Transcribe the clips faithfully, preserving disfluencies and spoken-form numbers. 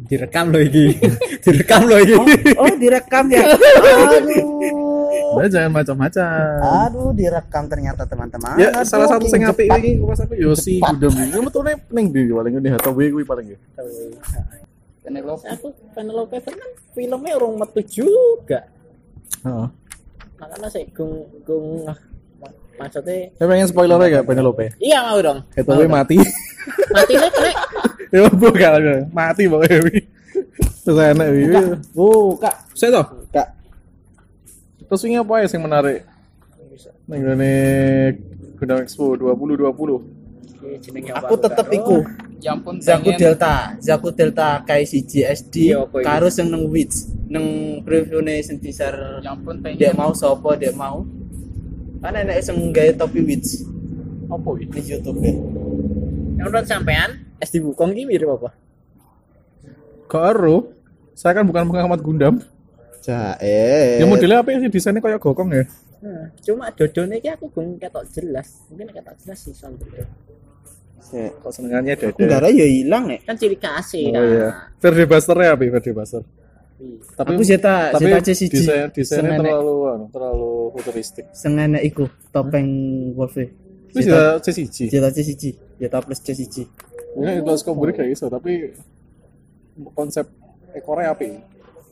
Direkam loh iki. Direkam loh iki. Oh, oh direkam ya. Aduh. Nah, jangan macam-macam. Aduh, direkam ternyata teman-teman. Ya, Aduh, salah satu sing apik cepat. iki pas aku Yosi Gundam iki. Metune ning ndi paling ngene Hathaway kuwi paling ya. Penelope aku Penelope kan filmnya orang metu juga. Heeh. Makanya saya gung gung maksudnya. Saya pengen spoiler ya Penelope. Iya mau dong. Hathaway mati. Mati nih kena. Ya bukan mati pokoknya. Terus enak iki. Buka. Saya toh. Buka. Terus ini apa ya yang menarik? Ning ngene Gundam Expo dua ribu dua puluh. Aku tetep iku. Ya ampun Zaku Delta, Zaku Delta Kai siji S D Iya, apa iki? karo sing nang Witch, nang preview-ne sing teaser. Ya ampun Dia mau sapa, dia mau. Kan enek sing gawe topi Witch Apa iki? di YouTube ya. Yang menurut sampean S D Wukong ini mirip apa? Karo. Saya kan bukan pengamat Gundam. Jae. Ya modelnya apa sih desainnya kayak gokong ya? Nah, cuma dodone iki aku gung ketok jelas. Mungkin ketok jelas sih sampe. Sik. Kok senengannya dada. Udara ya hilang nek. Kan ciri khasnya Oh kan. iya. Verde Buster-nya apa Verde Buster? Tapi Aku Zeta, tapi Zeta C siji. desain desainnya Sengenek. terlalu anu, terlalu futuristik. Sing enek iku topeng Wolf. Itu sudah C siji. Zeta C siji, Zeta plus C siji. Ini kelas komputer kayak iso, tapi konsep ekornya api.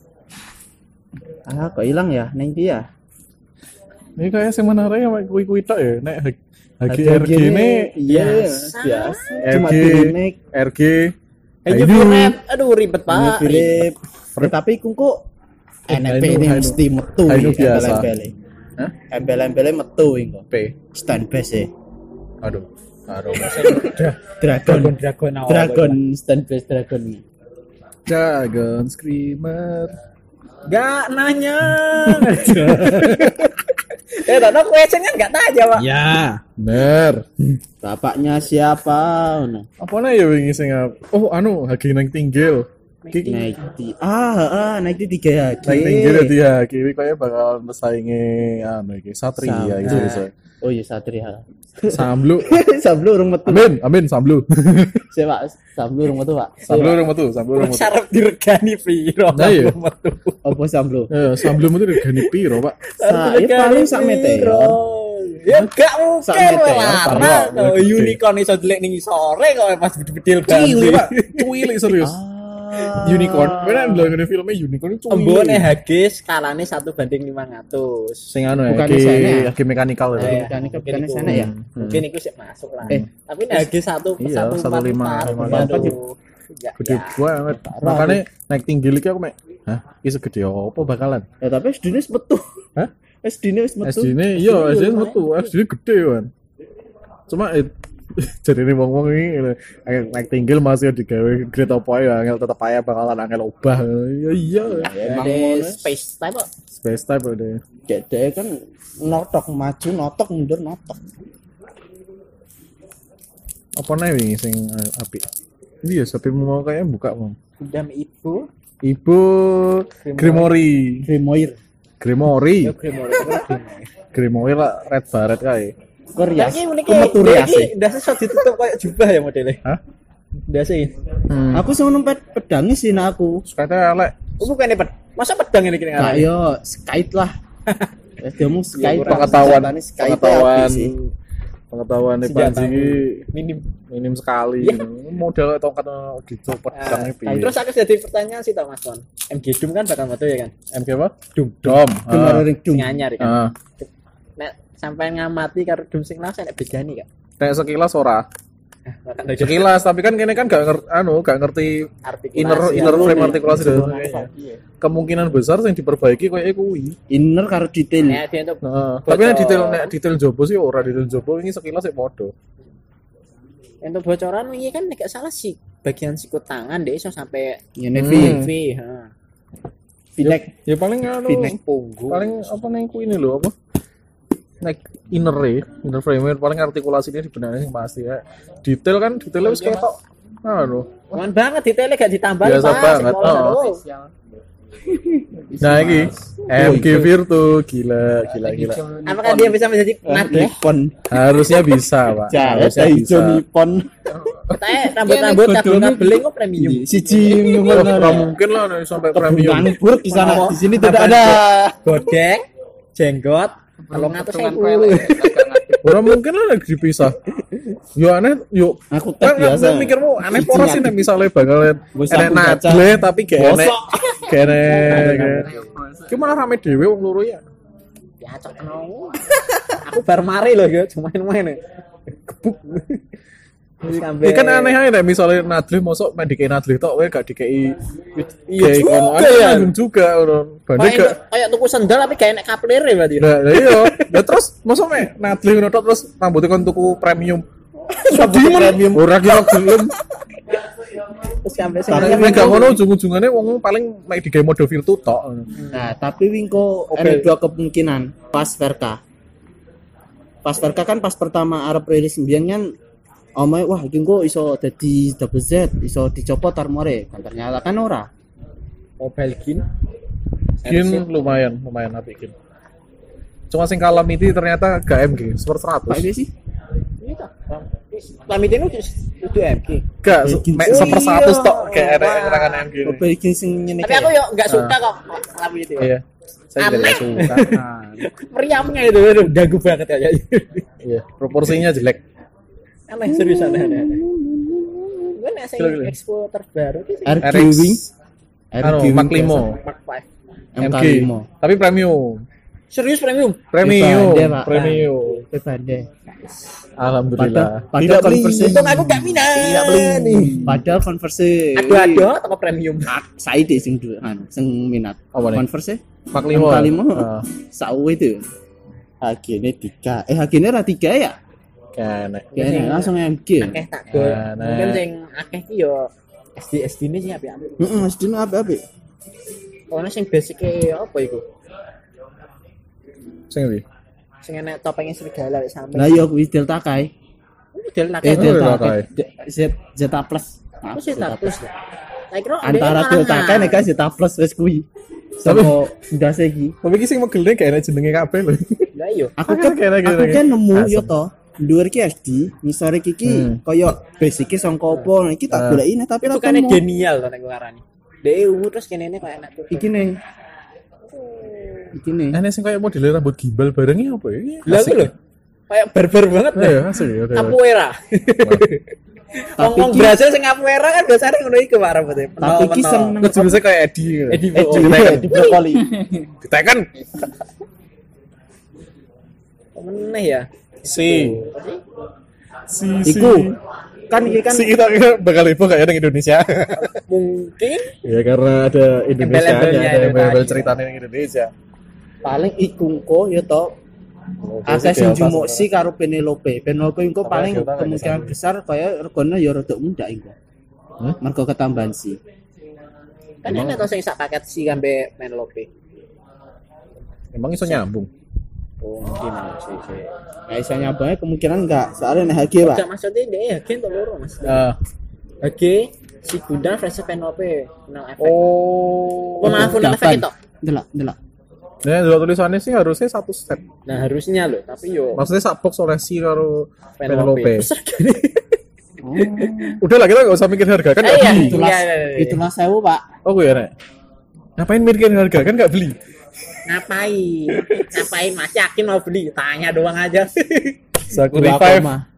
Ah, kok hilang ya? Neng dia ya? Ini kayak sing menarik ya kui-kui tok ya. Nek H G R G ini iya biasa. biasa. R Cuma G di remake. R G Ayo Aduh. Firet, aduh ribet pak. Philip. Tapi ku kok enek Ainu, ini Ainu. mesti metu. Ainu iki, biasa. embel-embele. Hah? Embel-embele metu iku. P. Stand base e. Aduh. Aduh. Dragon Dragon awal. Dragon stand base dragon. Dragon Screamer. Gak nanya. Eh, tadi question kan gak tanya pak. Ya. Bener. Bapaknya siapa? Ngono. Apa nih ya wingi sing ap- Oh, anu H G nang tinggil. Ki Naik di ah ah naik di tiga ya. nang tinggil ya dia. Ki kayak bakal pesaingi anu iki Satria Sam- gitu ah. bisa. Oh iya Satria. Samblu. Sablu urung metu. Amin, amin Samblu. Saya Pak, Sablu urung metu, Pak. Samblu orang metu, Samblu orang metu. Syarat diregani piro. Nah, iya. metu. Apa Sablu? Eh, Samblu metu regane piro, Pak? Sa- ya paling sak meteor. Ya gak Sak mungkin meteor, larang. parah. Oh, unicorn iso delik ning sore kok pas bedil Cilik, Pak. Cilik serius. Ah. Unicorn. Beneran lho ngene filmnya unicorn itu Embone H G skalane satu banding lima ratus. sing anu ya, Bukan H G sana ya? H G mekanikal ya. Eh, Eh, mekanik- mungkin bukan iku. sana ya? Mungkin itu sih masuk lah. Eh. Tapi H G satu Iya, satu satu lima, lima empat. Ya, Gede ya. banget. Makanya naik tinggi lagi aku mek. Hah? Iki segede apa bakalan? Ya tapi S D-ne wis metu. Hah? S D-ne wis metu. S D ini iya, S D ini metu, S D ini gede kan. Cuma eh, jadi ini wong-wong ini angel naik tinggil masih digawe grade apa ya, angel tetep aja bakalan angel obah. Ya iya. Emang Ada ngono. space type kok. Space type udah. Gede kan notok maju, notok mundur, notok. Apa nih wingi sing eh, apik? Iya, sampai mau kayaknya buka mau. Gundam Ibu. Ibu Grimory. Grimoire. Grimory. Ya Grimoire. Grimoire. Grimory lah red baret kae. Korea. Lagi unik Metu rias. iki ndase iso ditutup kayak jubah ya modelnya. Hah? Ndase. Hmm. Aku sing numpet pedangnya sih nah aku. Sekatnya elek. Oh bukan ped. Masa pedang ini kene Nah, yo skate lah. Eh, dia mau skate kurang Pengetahuan senjatanya skate pengetahuan api sih. pengetahuan nih Senjata Panji iki minim. minim sekali. Iya. Model tongkat gitu pedangnya Nah, piye. terus aku jadi pertanyaan sih Mas Kon. M G Doom kan bakal metu ya kan? M G apa? Dom. Dom. Kemarin ring Sing dung. anyar ya kan. Ah. Nek sampai ngamati karo Doom sing lawas nek bedani kan. Kayak sekilas ora. Sekilas Sekilas tapi kan kene kan gak ngerti anu, gak ngerti inner inner frame artikulasi dan sebagainya. Kemungkinan besar yang diperbaiki kayak kuwi. Inner karo detail. Nek dia untuk Heeh. Tapi nek detail nek detail jobo sih ora detail jobo ini sekilas sih podo. untuk bocoran wingi kan nek gak salah sih bagian sikut tangan deh iso sampai Ya Hmm. Nevi. V, heeh. Pinek. Ya paling anu Pinek. Punggung. paling apa nih ku ini loh apa? Nek inner e, inner frame paling artikulasinya dibenarin yang pasti ya. Detail kan detailnya wis ketok. Anu. Cuman banget detailnya gak ditambah Biasa Pak. banget, Sekolah, oh. aduh. Nah ini M G Virtu gila gila gila. Apakah dia bisa menjadi Nadeh? Nippon. Harusnya bisa pak. Harusnya Jahit bisa. hijau Nippon. Katanya rambut-rambut kabel-kabeling kok premium. Siji Wah, nggak mungkin lah nih sampai premium. Nganggur di sana. Oh, Di sini tidak apa ada. Godek, jenggot, kalau ngatur saya Orang mungkin lah lagi dipisah. Yo aneh, yuk. Aku tes Kan biasa. kan mikirmu aneh Siji poros sih nek ngatur. misalnya bakalan Wis enek aku baca. nadle tapi gak enek. Bosok. Gak enek. Gimana rame dhewe wong loro ya? ya cok kenal. Aku baru mari loh ya, cuma main-main. Gebuk. Terus Ya kan aneh aja nek misalnya nadle mosok main dikei nadle tok wae gak dikei Iya kayak juga kono ya. ya. Nanggung juga orang. Banding Kayak gak kayak tuku sendal tapi kayak enek kaplere berarti. Nah, lah iya. Lah terus mosok mek nadle ngono tok terus rambutnya kon tuku premium. Rambutnya premium. Ora kira gelem. Terus sampai sing Karena nek gak ngono ujung-ujungane wong paling mek digawe mode virtu tok. Nah, tapi Wingko Oke. ada dua kemungkinan pas Verka. Pas Verka kan pas pertama Arab rilis sembilan kan omai wah iki kok iso dadi double Z, iso dicopot armore. Kan ternyata kan ora. mobile gin. Gin lumayan, lumayan apik gin. Cuma sing kalem itu ternyata gak M G, super Pak seratus. ini sih. Ini tak. Lamit ini itu M G. Gak, Eh, gin- mek oh super iya. seratus tok kayak enek Wah. serangan M G. Mobile Legends sing ngene Tapi aku yo enggak suka kok lamit itu. Iya. Saya juga Aneh. gak suka. Nah, Meriamnya itu aduh, ganggu banget kayaknya. Iya, proporsinya jelek. Aneh serius aneh aneh. aneh. Gue nasi Gila, gila. expo terbaru itu sih. R G R X Wing. Anu, Wing Mark lima. Mark five. M M K G. lima. Tapi premium. Serius premium. Premium, Beda, Pak. premium. Beda. Alhamdulillah. Padahal Tidak beli. konversi. Untung aku gak minat. Tidak beli. Padahal konversi. Ada-ada apa premium. Saya deh sing dulu anu sing minat. Apa nih? Konversi Mark M lima. K lima. Ah, Sawe itu. Harganya tiga. Eh harganya ra tiga ya? kene. Kayaknya langsung M G. Akeh tak gol. Nah, Mungkin nah. sing akeh ki yo S D S D ini sih apik-apik. Heeh, mesti apik-apik. Ono sing basic e apa iku? Sing ndi? Sing enek topengnya serigala wis sampe. Lah iya kuwi Delta Kai. Model Eh nakal. Del- Delta Delta Kai. Kai. De- Z Zeta Plus. Maaf, Aku sih Zeta tak plus. Plus. Saya kira Antara dia Delta mahal. Kai nek Zeta Plus wis kuwi. Tapi- Sama ndase iki. Tapi iki sing megel gak enek jenenge kabeh lho. Lah iya. Aku kan Kayaknya aku gitu, kan nemu asem. yo to. Dhuwur iki S D, ngisore iki Hmm. kaya basic e sangka apa. Nah, iki tak Ah. goleki tapi Itu ra kan temu. genial to nek ngarani. Dek ungu terus kene ini kayak enak tuh. Iki ning. Iki ning. Enek sing kayak model rambut gimbal barengnya apa ya? Lah Asik lho. Kayak barbar banget ya. deh. Iya, asik ya. oke. Capoeira. Tapi Ngomong iki- Brasil sing capoeira kan biasanya ngono iku Pak rambutnya. Tapi iki seneng. Kok jenisnya kayak Eddie gitu. Eddie Eh, Bo- juga di brokoli. Ditekan. meneh ya. Si. Si. si. Iku kan iki kan Si kita bakal heboh kayak yang Indonesia. Mungkin Ya karena ada Indonesia, Embel-embelnya ada itu embel-embel tadi. ceritanya yang Indonesia. paling ikungko ya to. Akeh sing jumuksi karo Penelope. Penelope engko Apa paling Delta kemungkinan kayak besar kaya regane ya rada muda engko. Hmm? Mergo ketambahan sih. kan enak to sing sak paket si kambe Penelope. Emang iso nyambung. Oh, mungkin sih sih. Nah, iso nyabange kemungkinan enggak, soalnya nek H G, Pak. Enggak maksudnya dia ya gen to loro Mas. Ah. Oke, si Gundam versus Penelope final efek. Oh. Oh, maaf final efek itu. Delok, delok. Nah, dua tulisannya sih harusnya satu set. Nah, harusnya loh, tapi yo Maksudnya sak box oleh si karo Penelope. Penelope. Besar gini. Oh, Udah lah kita gak usah mikir harga kan Eh, gak iya. beli. itulah Iya, iya, iya. itulah sewu, Pak. Oh gue ya nek. Ngapain mikirin harga kan gak beli. Ngapain? Ngapain Mas yakin mau beli? Tanya doang aja. Saku Dua revive. koma.